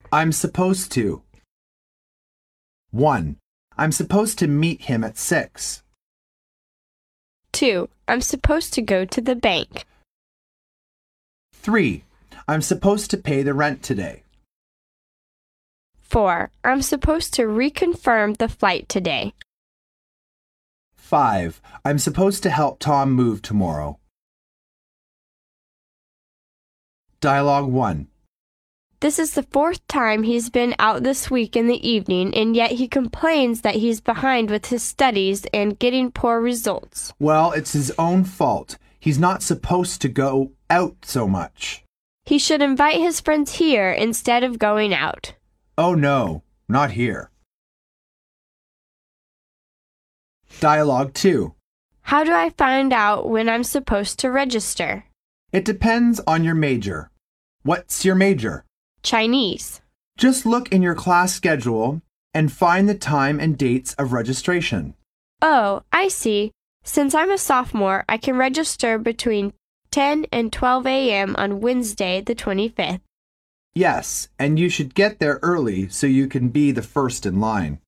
I'm supposed to. 1. I'm supposed to meet him at 6. 2. I'm supposed to go to the bank. 3. I'm supposed to pay the rent today. 4. I'm supposed to reconfirm the flight today. 5. I'm supposed to help Tom move tomorrow. Dialogue 1. This is the 4th time he's been out this week in the evening, and yet he complains that he's behind with his studies and getting poor results. Well, it's his own fault. He's not supposed to go out so much. He should invite his friends here instead of going out. Oh no, not here. Dialogue 2. How do I find out when I'm supposed to register? It depends on your major. What's your major? Chinese. Just look in your class schedule and find the time and dates of registration. Oh, I see. Since I'm a sophomore, I can register between 10 and 12 a.m. on Wednesday, the 25th. Yes, and you should get there early so you can be the first in line.